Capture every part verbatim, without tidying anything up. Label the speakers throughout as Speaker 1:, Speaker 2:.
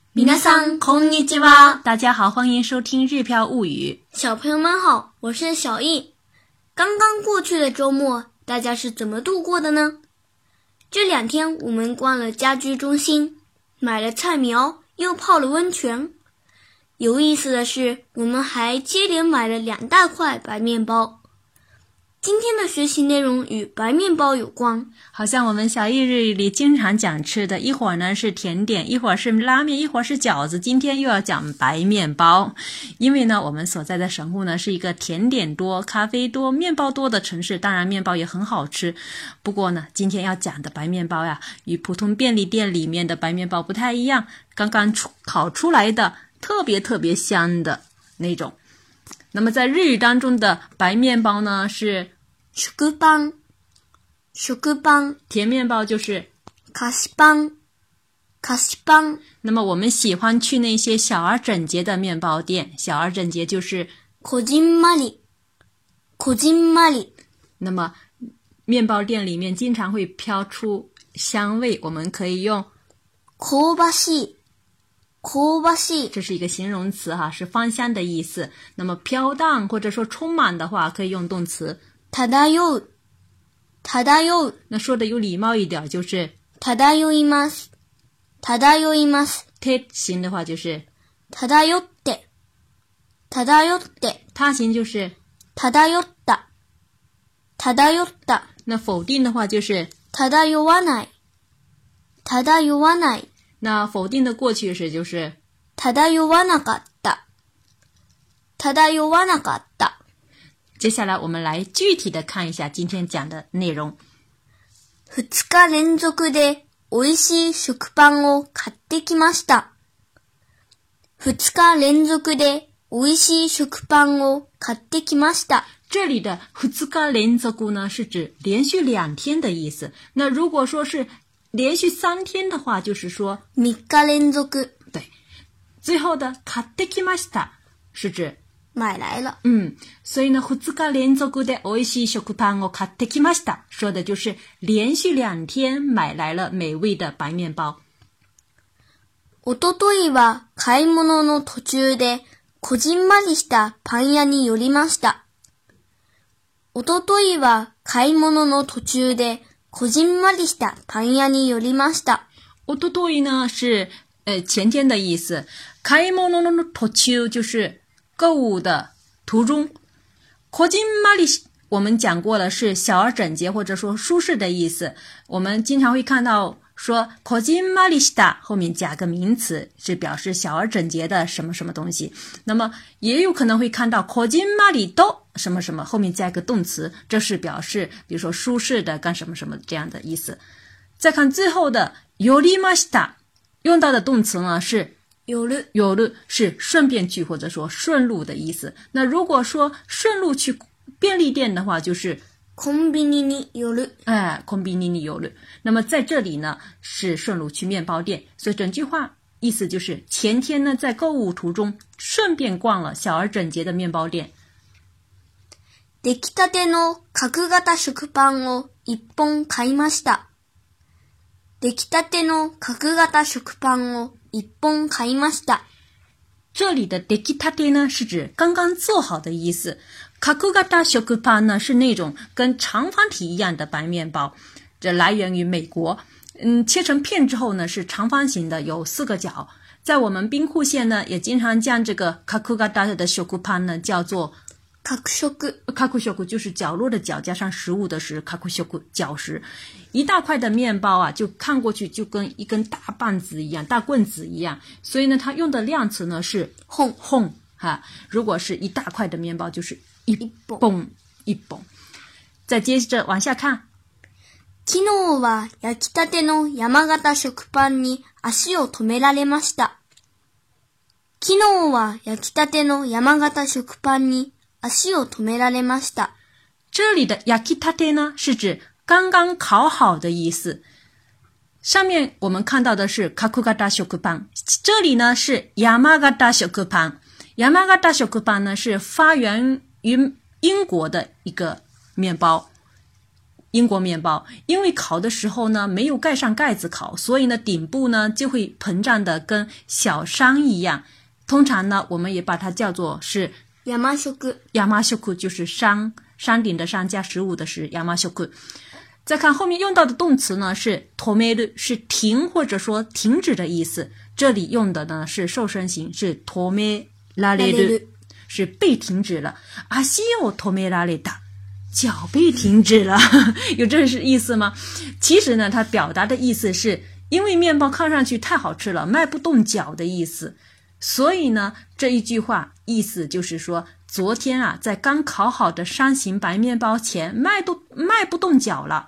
Speaker 1: 皆さんこんにちは。
Speaker 2: 大家好，欢迎收听日飘物语。
Speaker 1: 小朋友们好，我是小易。刚刚过去的周末，大家是怎么度过的呢？这两天我们逛了家居中心，买了菜苗，又泡了温泉。有意思的是，我们还接连买了两大块白面包。今天的学习内容与白面包有关，
Speaker 2: 好像我们小易日语里经常讲吃的，一会儿呢是甜点，一会儿是拉面，一会儿是饺子，今天又要讲白面包。因为呢我们所在的神户呢是一个甜点多、咖啡多、面包多的城市，当然面包也很好吃。不过呢今天要讲的白面包呀，与普通便利店里面的白面包不太一样，刚刚出烤出来的特别特别香的那种。那么在日语当中的白面包呢是
Speaker 1: 食パン、食パン，
Speaker 2: 甜面包就是
Speaker 1: 菓子パン、菓子パン。
Speaker 2: 那么我们喜欢去那些小而整洁的面包店，小而整洁就是
Speaker 1: こじんまり、こじんまり。
Speaker 2: 那么面包店里面经常会飘出香味，我们可以用
Speaker 1: 香ばしい、香ばしい，
Speaker 2: 这是一个形容词哈，是芳香的意思。那么飘荡或者说充满的话，可以用动词
Speaker 1: 漂う、漂う。
Speaker 2: 那说的有礼貌一点就是
Speaker 1: 漂います、漂います。
Speaker 2: 他形的话就是
Speaker 1: 漂って、漂って。
Speaker 2: 他形就是
Speaker 1: 漂った、漂った。
Speaker 2: 那否定的话就是
Speaker 1: 漂わない、漂わない。
Speaker 2: 那否定的过去式就是
Speaker 1: 漂わなかった、漂わなかった。
Speaker 2: 接下来我们来具体的看一下今天讲的内容。
Speaker 1: 二日連続で美味しい食パンを買ってきました。二日連続で美味しい食パンを買ってきました。
Speaker 2: 这里的二日連続呢是指连续两天的意思。那如果说是连续三天的话，就是说
Speaker 1: 三日連続。
Speaker 2: 对，最后的買ってきました是指
Speaker 1: 买来了。
Speaker 2: 嗯，所以呢二日連続で美味しい食パンを買ってきました，说的就是连续两天买来了美味的白面包。
Speaker 1: おとといは買い物の途中でこじんまりしたパン屋に寄りました。おとといは買い物の途中でこじんまりしたパン屋に寄りました。
Speaker 2: おととい呢是呃前天的意思，買い物の途中就是购物的途中。こじんまり我们讲过了是小而整洁或者说舒适的意思，我们经常会看到说こじんまりした后面加个名词，是表示小而整洁的什么什么东西。那么也有可能会看到こじんまりと什么什么后面加一个动词，这是表示比如说舒适的干什么什么这样的意思。再看最后的寄りました用到的动词呢是
Speaker 1: 寄る，
Speaker 2: 寄る是顺便去或者说顺路的意思。那如果说顺路去便利店的话就是
Speaker 1: コンビニに寄る。
Speaker 2: 哎，コンビニに寄る。那么在这里呢是顺路去面包店，所以整句话意思就是前天呢在购物途中顺便逛了小而整洁的面包店。
Speaker 1: 出来たての角型食パンを一本買いました。出来たての角型食パンを一本買いました。
Speaker 2: 这里的出来たて呢是指刚刚做好的意思，角型食パン呢是那种跟长方体一样的白面包，这来源于美国。嗯，切成片之后呢是长方形的，有四个角。在我们兵库县呢也经常将这个角型的食パン呢叫做
Speaker 1: 角食。
Speaker 2: 角食就是角落的角加上食物的食，角食角食。一大块的面包啊就看过去就跟一根大棒子一样，大棍子一样，所以呢它用的量词呢是
Speaker 1: 本
Speaker 2: 本哈。如果是一大块的面包就是一本一本。再接着往下看，
Speaker 1: 昨日は焼きたての山形食パンに足を止められました。昨日は焼きたての山形食パンに足を止められました。
Speaker 2: 这里的焼きたて呢是指刚刚烤好的意思。上面我们看到的是角型食パン，这里呢是山形食パン。山形食パン呢是发源于英国的一个面包。 英国面包，因为烤的时候呢没有盖上盖子烤，所以呢顶部呢就会膨胀的跟小山一样。通常呢我们也把它叫做是
Speaker 1: 山食。
Speaker 2: 山食就是山山顶的山加食物的是山食。再看后面用到的动词呢是止める，是停或者说停止的意思。这里用的呢是受声型，是止められる，是被停止了。足を止められた，脚被停止了，有这是意思吗？其实呢它表达的意思是因为面包看上去太好吃了，迈不动脚的意思。所以呢这一句话意思就是说，昨天啊在刚烤好的山形白面包前迈都迈不动脚了。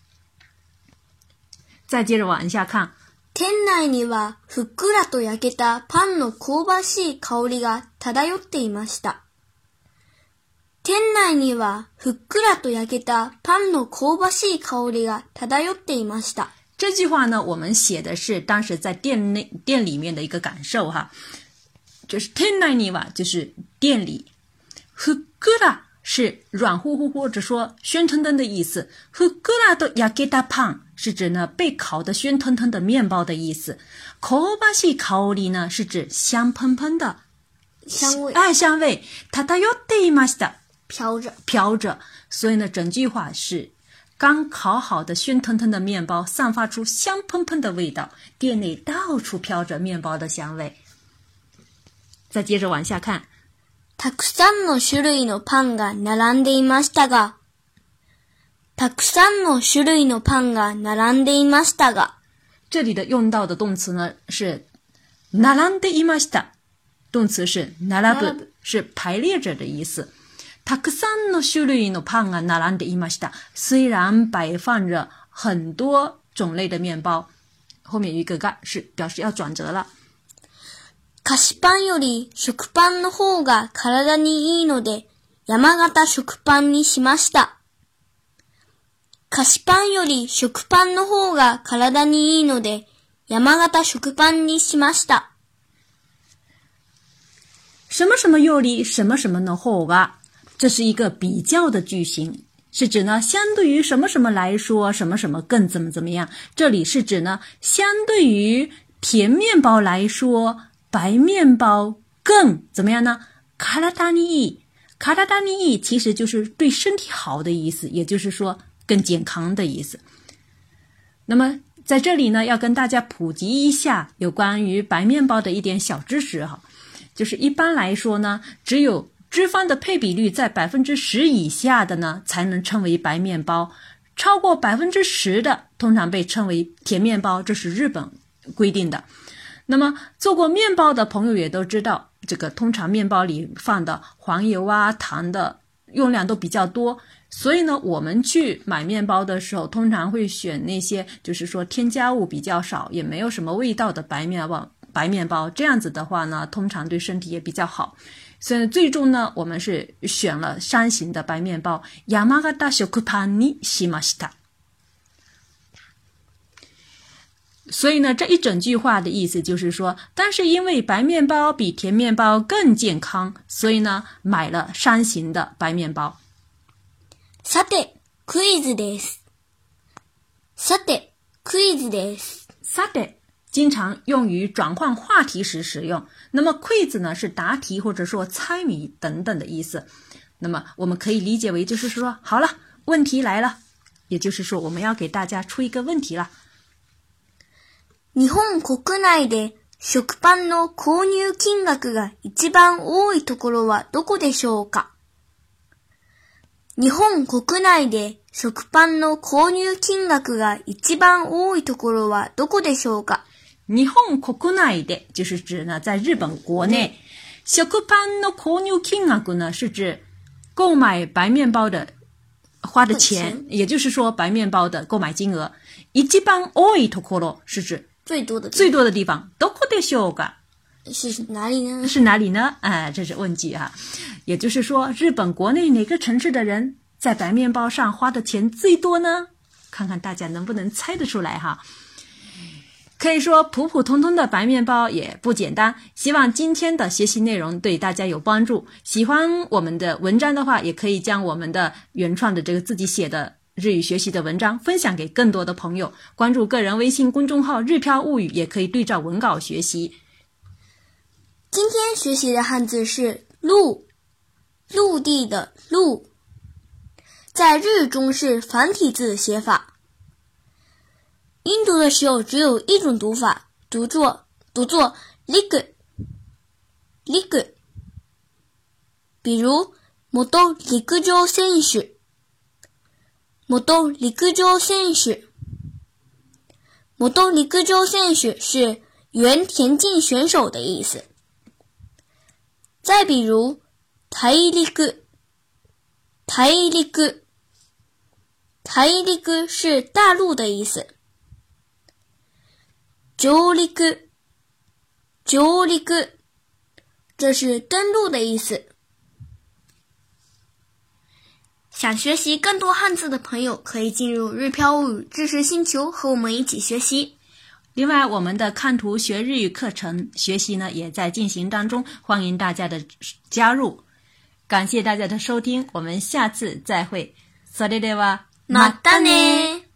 Speaker 2: 再接着往下看，
Speaker 1: 店内にはふっくらと焼けたパンの香ばしい香りが漂っていました。店内にはふっくらと焼けたパンの香ばしい香りが漂っていました。
Speaker 2: 这句话呢我们写的是当时在店内店里面的一个感受哈，就是店内には就是店里，ふっくら是软乎乎或者说鲜腾腾的意思，ふっくらと焼けたパン是指呢被烤的鲜腾腾的面包的意思，香ばしい香り呢是指香喷喷的
Speaker 1: 香味，
Speaker 2: 哎香味，漂っていました，
Speaker 1: 飘着
Speaker 2: 飘着。所以呢整句话是刚烤好的鲜腾腾的面包散发出香喷喷的味道，店内到处飘着面包的香味。再接着往下看，
Speaker 1: たくさんの種類のパンが並んでいましたが、たくさんの種類のパンが並んでいましたが，
Speaker 2: 这里的用到的动词呢是並んでいました，动词是並ぶ，是排列着的意思。たくさんの種類のパンが並んでいました，虽然摆放着很多种类的面包，后面有一个が是表示要转折了。
Speaker 1: 菓子パンより食パンの方が体にいいので、山形食パンにしました。菓子パンより食パンの方が体にいいので、山形食パンにしました。
Speaker 2: 什么什么より什么什么の方が，这是一个比较的句型，是指呢相对于什么什么来说什么什么更怎么怎么样。这里是指呢相对于甜面包来说白面包更怎么样呢？体にいい，体にいい其实就是对身体好的意思，也就是说更健康的意思。那么在这里呢要跟大家普及一下有关于白面包的一点小知识哈，就是一般来说呢只有脂肪的配比率在 百分之十 以下的呢才能称为白面包，超过 百分之十 的通常被称为甜面包，这是日本规定的。那么做过面包的朋友也都知道，这个通常面包里放的黄油啊糖的用量都比较多，所以呢我们去买面包的时候通常会选那些就是说添加物比较少也没有什么味道的白面包白面包，这样子的话呢通常对身体也比较好。所以最终呢我们是选了山形的白面包，山形食パンにしました。所以呢这一整句话的意思就是说，但是因为白面包比甜面包更健康，所以呢买了山形的白面包。
Speaker 1: さてクイズです。さてクイズです。
Speaker 2: さて经常用于转换话题时使用，那么 quiz 呢是答题或者说猜谜等等的意思。那么我们可以理解为就是说，好了，问题来了，也就是说我们要给大家出一个问题了。
Speaker 1: 日本国内で食パンの購入金額が一番多いところはどこでしょうか？日本国内で食パンの購入金額が一番多いところはどこでしょうか？
Speaker 2: 日本国内で就是指呢在日本国内，食パンの購入金額呢是指购买白面包的花的钱，也就是说白面包的购买金额。一番多いところ是指
Speaker 1: 最多的
Speaker 2: 最多的地方。どこでしょうか？
Speaker 1: 是哪里呢？
Speaker 2: 是哪里呢？哎，这是问句啊。也就是说，日本国内哪个城市的人在白面包上花的钱最多呢？看看大家能不能猜得出来哈。可以说普普通通的白面包也不简单，希望今天的学习内容对大家有帮助。喜欢我们的文章的话，也可以将我们的原创的这个自己写的日语学习的文章分享给更多的朋友，关注个人微信公众号日飘物语，也可以对照文稿学习。
Speaker 1: 今天学习的汉字是陆，陆地的陆，在日语中是繁体字的写法。音读的时候只有一种读法，读作读作 lig lig。比如元陸上選手，元陸上選手，元陸上選手是原田径选手的意思。再比如大陸，大陸，大陸是大陆的意思。上陸，上陸，这是登陆的意思。想学习更多汉字的朋友，可以进入日飘物语知识星球，和我们一起学习。
Speaker 2: 另外，我们的看图学日语课程学习呢也在进行当中，欢迎大家的加入。感谢大家的收听，我们下次再会。それでは
Speaker 1: またね。